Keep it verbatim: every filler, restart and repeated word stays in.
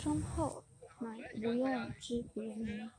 忠厚，乃无用之别名。